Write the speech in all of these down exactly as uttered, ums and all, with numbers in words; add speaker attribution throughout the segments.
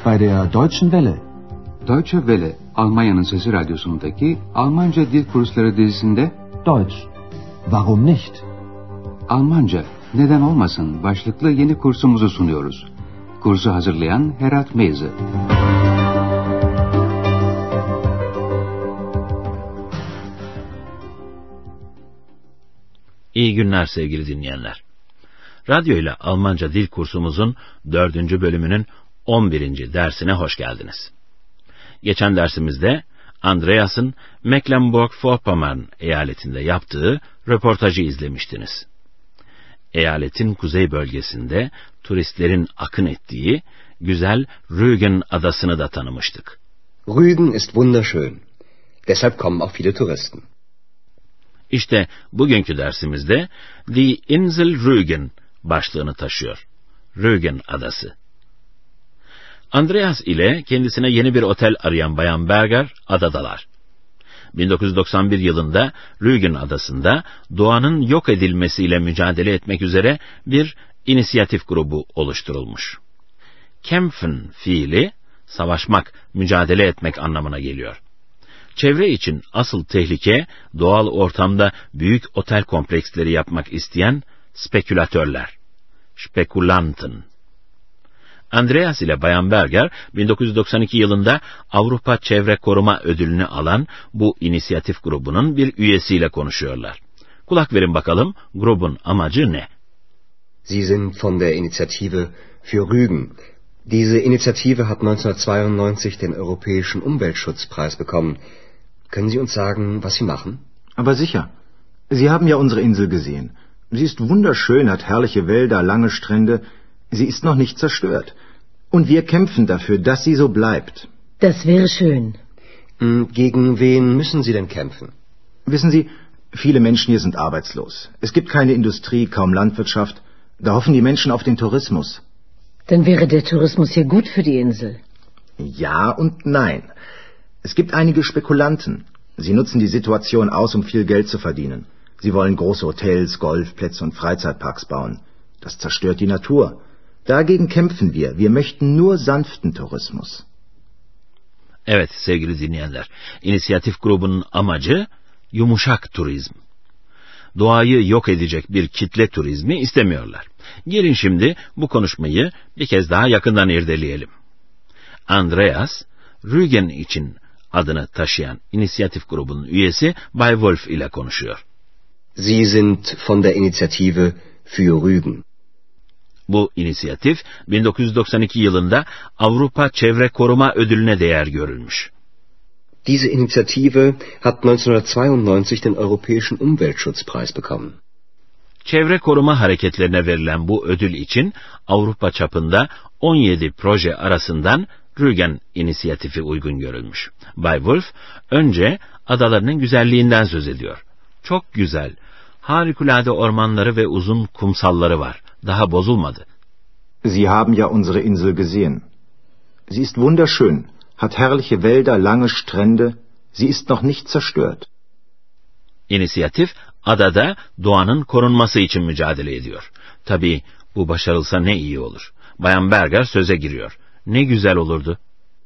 Speaker 1: bei der Deutschen Welle.
Speaker 2: Deutsche Welle, Almanya'nın Sesi Radyosu'ndaki Almanca Dil Kursları dizisinde
Speaker 1: Deutsch. Warum nicht?
Speaker 2: Almanca, neden olmasın başlıklı yeni kursumuzu sunuyoruz. Kursu hazırlayan Herat Meyze.
Speaker 3: İyi günler sevgili dinleyenler. Radyo ile Almanca dil kursumuzun dördüncü bölümünün on birinci dersine hoş geldiniz. Geçen dersimizde Andreas'ın Mecklenburg-Vorpommern eyaletinde yaptığı röportajı izlemiştiniz. Eyaletin kuzey bölgesinde turistlerin akın ettiği güzel Rügen adasını da tanımıştık.
Speaker 4: Rügen ist wunderschön. Deshalb kommen auch viele Touristen.
Speaker 3: İşte bugünkü dersimizde Die Insel Rügen başlığını taşıyor. Rügen adası. Andreas ile kendisine yeni bir otel arayan Bayan Berger adadalar. bin dokuz yüz doksan bir yılında Rügen adasında doğanın yok edilmesiyle mücadele etmek üzere bir inisiyatif grubu oluşturulmuş. Kämpfen fiili savaşmak, mücadele etmek anlamına geliyor. Çevre için asıl tehlike doğal ortamda büyük otel kompleksleri yapmak isteyen spekülatörler. Spekulanten. Andreas ile Bayan Berger bin dokuz yüz doksan iki yılında Avrupa Çevre Koruma Ödülünü alan bu inisiyatif grubunun bir üyesiyle konuşuyorlar. Kulak verin bakalım grubun amacı ne?
Speaker 4: Sie sind von der Initiative für Rügen. Diese Initiative hat neunzehnhundertzweiundneunzig den Europäischen Umweltschutzpreis bekommen. Können Sie uns sagen, was Sie machen?
Speaker 1: Aber sicher. Sie haben ja unsere Insel gesehen. Sie ist wunderschön, hat herrliche Wälder, lange Strände. Sie ist noch nicht zerstört. Und wir kämpfen dafür, dass sie so bleibt.
Speaker 5: Das wäre schön.
Speaker 4: Gegen wen müssen Sie denn kämpfen?
Speaker 1: Wissen Sie, viele Menschen hier sind arbeitslos. Es gibt keine Industrie, kaum Landwirtschaft. Da hoffen die Menschen auf den Tourismus.
Speaker 5: Dann wäre der Tourismus hier gut für die Insel.
Speaker 1: Ja und nein. Es gibt einige Spekulanten. Sie nutzen die Situation aus, um viel Geld zu verdienen. Sie wollen große Hotels, Golfplätze und Freizeitparks bauen. Das zerstört die Natur. Dagegen kämpfen wir. Wir möchten nur sanften Tourismus.
Speaker 3: Evet sevgili dinleyenler, inisiyatif grubunun amacı yumuşak turizm. Doğayı yok edecek bir kitle turizmi istemiyorlar. Gelin şimdi bu konuşmayı bir kez daha yakından irdeleyelim. Andreas, Rügen için adını taşıyan inisiyatif grubunun üyesi Bay Wolf ile konuşuyor.
Speaker 4: Sie sind von der Initiative für Rügen.
Speaker 3: Bu inisiyatif bin dokuz yüz doksan iki yılında Avrupa Çevre Koruma Ödülüne değer görülmüş.
Speaker 4: Diese Initiative hat neunzehnhundertzweiundneunzig den Europäischen Umweltschutzpreis bekommen.
Speaker 3: Çevre koruma hareketlerine verilen bu ödül için Avrupa çapında on yedi proje arasından Rügen inisiyatifi uygun görülmüş. Bay Wolf önce adalarının güzelliğinden söz ediyor. Çok güzel, harikulade ormanları ve uzun kumsalları var. Daha bozulmadı.
Speaker 1: Sie haben ja unsere Insel gesehen. Sie ist wunderschön, hat herrliche Wälder, lange Strände. Sie ist noch nicht zerstört.
Speaker 3: İnisiyatif, adada doğanın korunması için mücadele ediyor. Tabii bu başarılsa ne iyi olur. Bayan Berger söze giriyor. Ne güzel olurdu.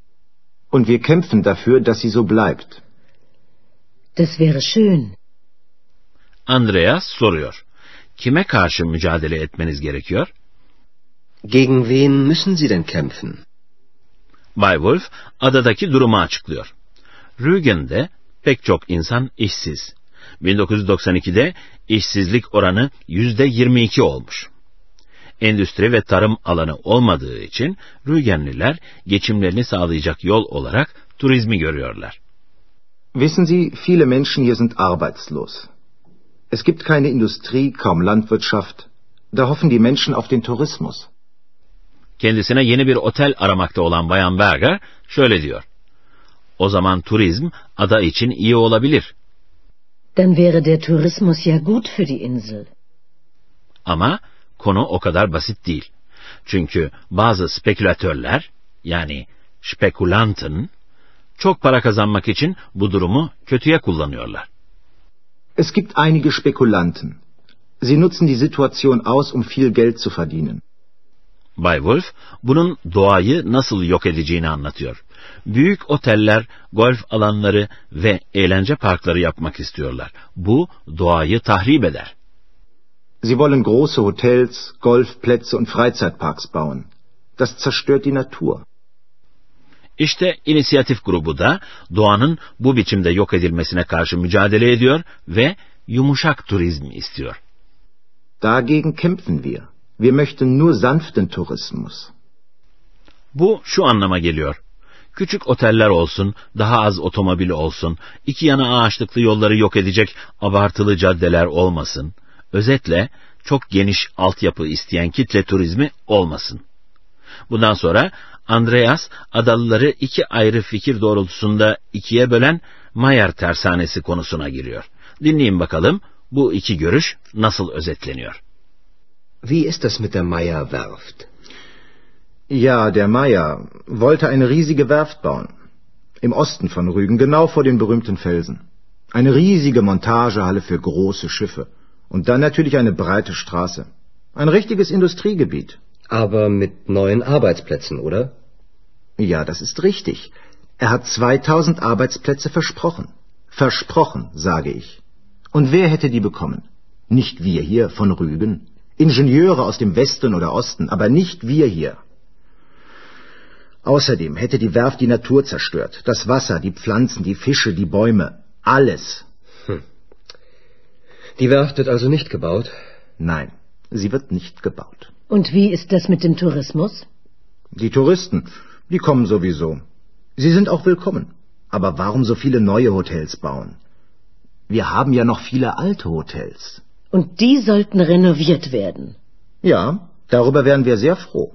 Speaker 1: Und wir kämpfen dafür, dass sie so bleibt.
Speaker 5: Das wäre schön.
Speaker 3: Andreas soruyor. Kime karşı mücadele etmeniz gerekiyor?
Speaker 4: Gegen wen müssen Sie denn kämpfen?
Speaker 3: Bay Wolf adadaki durumu açıklıyor. Rügen'de pek çok insan işsiz. bin dokuz yüz doksan ikide işsizlik oranı yüzde yirmi iki olmuş. Endüstri ve tarım alanı olmadığı için Rügenliler geçimlerini sağlayacak yol olarak turizmi görüyorlar.
Speaker 1: Wissen Sie, viele Menschen hier sind arbeitslos. Es gibt keine Industrie, kaum Landwirtschaft. Da hoffen die Menschen auf den Tourismus.
Speaker 3: Kendisine yeni bir otel aramakta olan Bayan Berger şöyle diyor. O zaman turizm ada için iyi olabilir.
Speaker 5: Dann wäre der Tourismus ja gut für die Insel.
Speaker 3: Ama konu o kadar basit değil. Çünkü bazı spekülatörler, yani Spekulanten, çok para kazanmak için bu durumu kötüye kullanıyorlar.
Speaker 1: Es gibt einige Spekulanten. Sie nutzen die Situation aus, um viel Geld zu verdienen.
Speaker 3: Bay Wolf, bunun doğayı nasıl yok edeceğini anlatıyor. Büyük oteller, golf alanları ve eğlence parkları yapmak istiyorlar. Bu doğayı tahrip eder.
Speaker 1: Sie wollen große Hotels, Golfplätze und Freizeitparks bauen. Das zerstört die Natur.
Speaker 3: İşte inisiyatif grubu da doğanın bu biçimde yok edilmesine karşı mücadele ediyor ve yumuşak turizm istiyor.
Speaker 1: Dagegen kämpfen wir. Wir möchten nur sanften Tourismus.
Speaker 3: Bu şu anlama geliyor. Küçük oteller olsun, daha az otomobil olsun, iki yana ağaçlıklı yolları yok edecek abartılı caddeler olmasın. Özetle çok geniş altyapı isteyen kitle turizmi olmasın. Bundan sonra Andreas adalıları iki ayrı fikir doğrultusunda ikiye bölen Mayer tersanesi konusuna giriyor. Dinleyin bakalım bu iki görüş nasıl özetleniyor.
Speaker 4: Wie ist das mit der Mayer Werft?
Speaker 1: Ja, der Mayer wollte eine riesige Werft bauen. Im Osten von Rügen, genau vor den berühmten Felsen. Eine riesige Montagehalle für große Schiffe. Und dann natürlich eine breite Straße. Ein richtiges Industriegebiet.
Speaker 4: Aber mit neuen Arbeitsplätzen, oder?
Speaker 1: Ja, das ist richtig. Er hat zweitausend Arbeitsplätze versprochen. Versprochen, sage ich. Und wer hätte die bekommen? Nicht wir hier von Rügen. Ingenieure aus dem Westen oder Osten, aber nicht wir hier. Außerdem hätte die Werft die Natur zerstört. Das Wasser, die Pflanzen, die Fische, die Bäume. Alles.
Speaker 4: Hm. Die Werft wird also nicht gebaut?
Speaker 1: Nein, sie wird nicht gebaut.
Speaker 5: Und wie ist das mit dem Tourismus?
Speaker 1: Die Touristen, die kommen sowieso. Sie sind auch willkommen. Aber warum so viele neue Hotels bauen? Wir haben ja noch viele alte Hotels.
Speaker 5: Und die sollten renoviert werden.
Speaker 1: Ja, darüber wären wir sehr froh.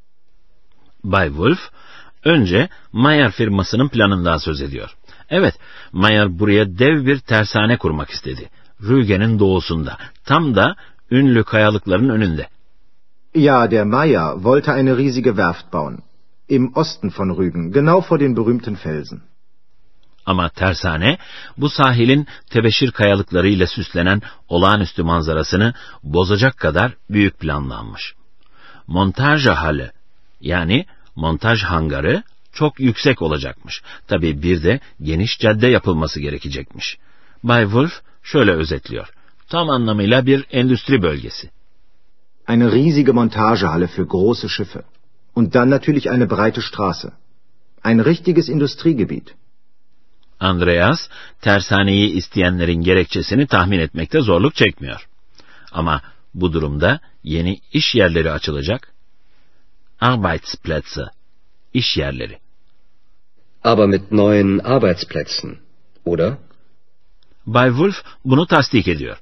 Speaker 3: Bay Wolf, önce Mayer firmasının planından söz ediyor. Evet, Mayer buraya dev bir tersane kurmak istedi. Rügen'in doğusunda, tam da ünlü kayalıkların önünde.
Speaker 1: Ja, der Mayer wollte eine riesige Werft bauen. Im Osten von Rügen, genau vor den berühmten Felsen.
Speaker 3: Ama tersane, bu sahilin tebeşir kayalıklarıyla süslenen olağanüstü manzarasını bozacak kadar büyük planlanmış. Montagehalle, yani montaj hangarı çok yüksek olacakmış. Tabii bir de geniş cadde yapılması gerekecekmiş. Bay Wolf şöyle özetliyor. Tam anlamıyla bir endüstri bölgesi.
Speaker 1: Eine riesige Montagehalle für große Schiffe. Und dann natürlich eine breite Straße. Ein richtiges Industriegebiet.
Speaker 3: Andreas, tersaneyi isteyenlerin gerekçesini tahmin etmekte zorluk çekmiyor. Ama bu durumda yeni iş yerleri açılacak. Arbeitsplätze, iş yerleri.
Speaker 4: Aber mit neuen Arbeitsplätzen, oder?
Speaker 3: Bay Wolf bunu tasdik ediyor.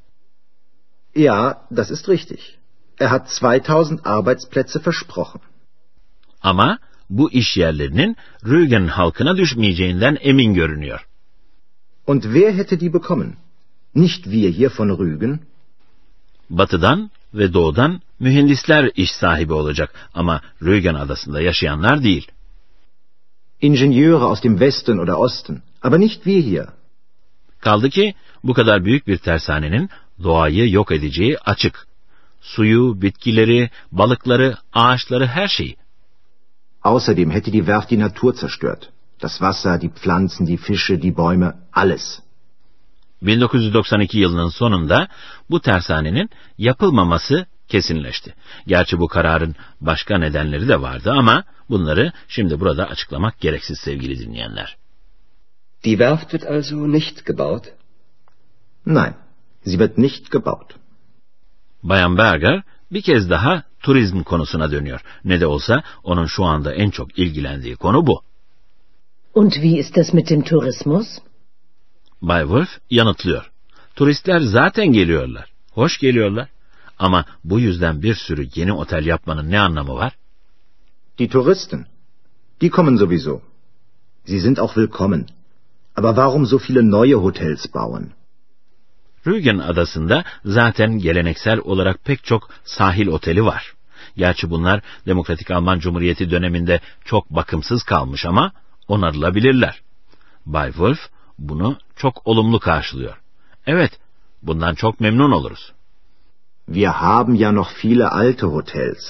Speaker 1: Ja, das ist richtig. Er hat zweitausend Arbeitsplätze versprochen.
Speaker 3: Ama bu iş yerlerinin Rügen halkına düşmeyeceğinden emin görünüyor.
Speaker 1: Und wer hätte die bekommen? Nicht wir hier von Rügen.
Speaker 3: Batıdan ve doğudan mühendisler iş sahibi olacak ama Rügen adasında yaşayanlar değil.
Speaker 1: Ingenieure aus dem Westen oder Osten, aber nicht wir hier.
Speaker 3: Kaldı ki bu kadar büyük bir tersanenin doğayı yok edeceği açık. Suyu, bitkileri, balıkları, ağaçları, her şeyi.
Speaker 1: Außerdem hätte die Werft die Natur zerstört. Das Wasser, die Pflanzen, die Fische, die Bäume, alles.
Speaker 3: bin dokuz yüz doksan iki yılının sonunda bu tersanenin yapılmaması kesinleşti. Gerçi bu kararın başka nedenleri de vardı ama bunları şimdi burada açıklamak gereksiz sevgili dinleyenler.
Speaker 4: Die Werft wird also nicht gebaut?
Speaker 1: Nein, sie wird nicht gebaut.
Speaker 3: Bayan Berger bir kez daha turizm konusuna dönüyor. Ne de olsa onun şu anda en çok ilgilendiği konu bu.
Speaker 5: Und wie ist das mit dem Tourismus?
Speaker 3: Bay Wolf yanıtlıyor. Turistler zaten geliyorlar. Hoş geliyorlar. Ama bu yüzden bir sürü yeni otel yapmanın ne anlamı var?
Speaker 1: Die Touristen, die kommen sowieso. Sie sind auch willkommen. Aber warum so viele neue Hotels bauen?
Speaker 3: Rügen adasında zaten geleneksel olarak pek çok sahil oteli var. Gerçi bunlar Demokratik Alman Cumhuriyeti döneminde çok bakımsız kalmış ama onarılabilirler. Bay Wolf bunu çok olumlu karşılıyor. Evet, bundan çok memnun oluruz.
Speaker 1: Wir haben ja noch viele alte Hotels.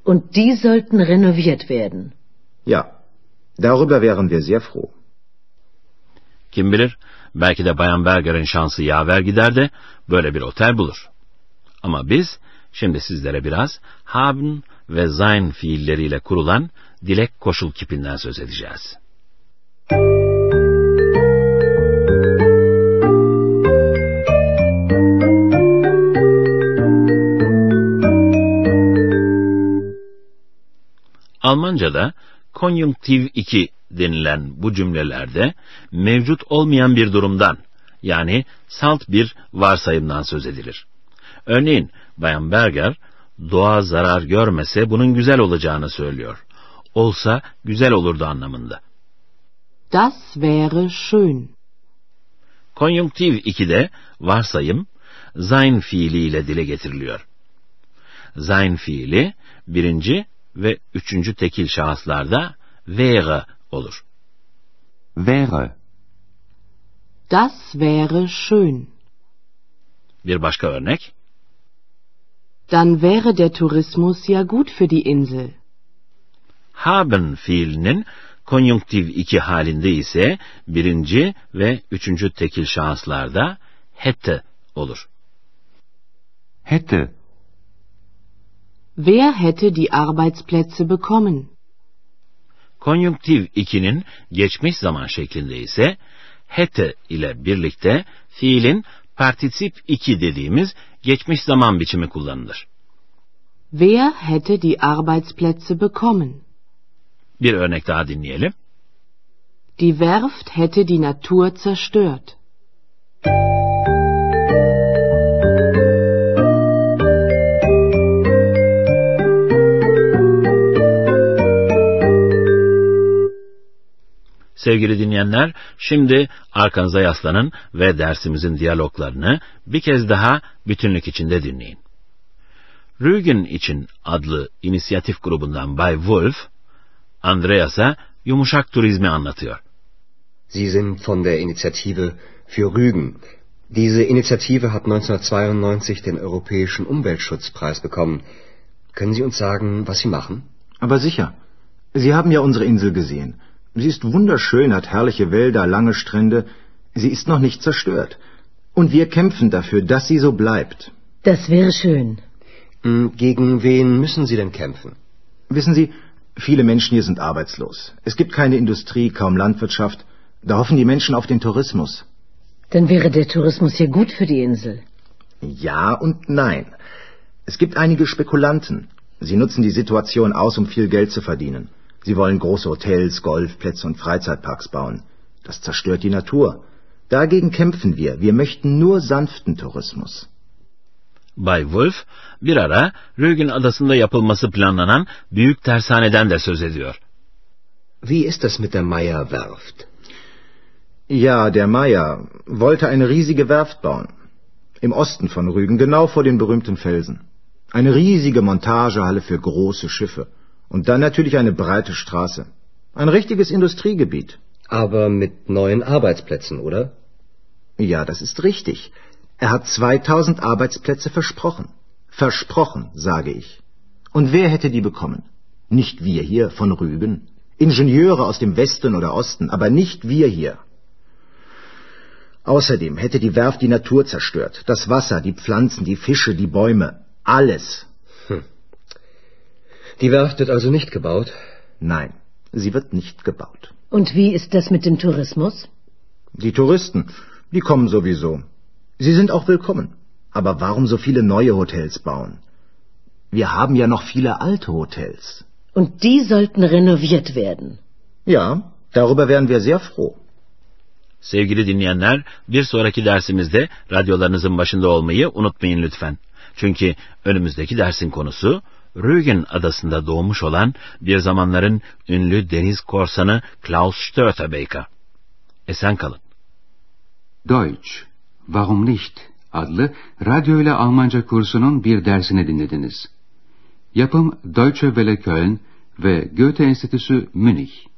Speaker 5: Und die sollten renoviert werden.
Speaker 1: Ja, darüber wären wir sehr froh.
Speaker 3: Kim bilir, belki de Bayan Berger'in şansı yaver gider de böyle bir otel bulur. Ama biz şimdi sizlere biraz haben ve sein fiilleriyle kurulan dilek koşul kipinden söz edeceğiz. Almanca'da konjunktiv iki denilen bu cümlelerde mevcut olmayan bir durumdan, yani salt bir varsayımdan söz edilir. Örneğin Bayan Berger, doğa zarar görmese bunun güzel olacağını söylüyor. Olsa güzel olurdu anlamında.
Speaker 6: Das wäre schön.
Speaker 3: Konjunktiv ikide varsayım sein fiiliyle dile getiriliyor. Sein fiili birinci ve üçüncü tekil şahıslarda wäre olur.
Speaker 2: Wäre.
Speaker 6: Das wäre schön.
Speaker 3: Bir başka örnek.
Speaker 6: Dann wäre der Tourismus ja gut für die Insel.
Speaker 3: Haben fiilinin konjunktiv iki halinde ise birinci ve üçüncü tekil şahıslarda hätte olur.
Speaker 2: Hätte.
Speaker 6: Wer hätte die Arbeitsplätze bekommen?
Speaker 3: Konjunktiv ikinin geçmiş zaman şeklinde ise hätte ile birlikte fiilin partisip iki dediğimiz geçmiş zaman biçimi kullanılır.
Speaker 6: Wer hätte die Arbeitsplätze bekommen?
Speaker 3: Bir örnek daha dinleyelim.
Speaker 6: Die Werft hätte die Natur zerstört.
Speaker 3: Sevgili dinleyenler, şimdi arkanıza yaslanın ve dersimizin diyaloglarını bir kez daha bütünlük içinde dinleyin. Rügen için adlı inisiyatif grubundan Bay Wolf, Andreas'a yumuşak turizmi anlatıyor.
Speaker 4: Sie sind von der Initiative für Rügen. Diese Initiative hat neunzehnhundertzweiundneunzig den Europäischen Umweltschutzpreis bekommen. Können Sie uns sagen, was Sie machen?
Speaker 1: Aber sicher. Sie haben ja unsere Insel gesehen. Sie ist wunderschön, hat herrliche Wälder, lange Strände. Sie ist noch nicht zerstört. Und wir kämpfen dafür, dass sie so bleibt.
Speaker 5: Das wäre schön.
Speaker 4: Gegen wen müssen Sie denn kämpfen?
Speaker 1: Wissen Sie, viele Menschen hier sind arbeitslos. Es gibt keine Industrie, kaum Landwirtschaft. Da hoffen die Menschen auf den Tourismus.
Speaker 5: Dann wäre der Tourismus hier gut für die Insel.
Speaker 1: Ja und nein. Es gibt einige Spekulanten. Sie nutzen die Situation aus, um viel Geld zu verdienen. Sie wollen große Hotels, Golfplätze und Freizeitparks bauen. Das zerstört die Natur. Dagegen kämpfen wir. Wir möchten nur sanften Tourismus.
Speaker 3: Bay Wolf bir ara Rügen adasında yapılması planlanan büyük tersaneden de söz ediyor.
Speaker 4: Wie ist das mit der Meyer Werft?
Speaker 1: Ja, der Meyer wollte eine riesige Werft bauen. Im Osten von Rügen, genau vor den berühmten Felsen. Eine riesige Montagehalle für große Schiffe. Und dann natürlich eine breite Straße. Ein richtiges Industriegebiet.
Speaker 4: Aber mit neuen Arbeitsplätzen, oder?
Speaker 1: Ja, das ist richtig. Er hat zweitausend Arbeitsplätze versprochen. Versprochen, sage ich. Und wer hätte die bekommen? Nicht wir hier von Rügen. Ingenieure aus dem Westen oder Osten, aber nicht wir hier. Außerdem hätte die Werft die Natur zerstört. Das Wasser, die Pflanzen, die Fische, die Bäume. Alles.
Speaker 4: Hm. Die Werft wird also nicht gebaut?
Speaker 1: Nein, sie wird nicht gebaut.
Speaker 5: Und wie ist das mit dem Tourismus?
Speaker 1: Die Touristen, die kommen sowieso. Sie sind auch willkommen. Aber warum so viele neue Hotels bauen? Wir haben ja noch viele alte Hotels.
Speaker 5: Und die sollten renoviert werden.
Speaker 1: Ja, darüber wären wir sehr froh.
Speaker 3: Sevgili dinleyenler, bir sonraki dersimizde radyolarınızın başında olmayı unutmayın lütfen. Çünkü önümüzdeki dersin konusu Rügen adasında doğmuş olan bir zamanların ünlü deniz korsanı Klaus Störtebeker. Esen kalın.
Speaker 2: Deutsch, Warum nicht? Adlı radyo ile Almanca kursunun bir dersini dinlediniz. Yapım Deutsche Welle Köln ve Goethe Enstitüsü Münih.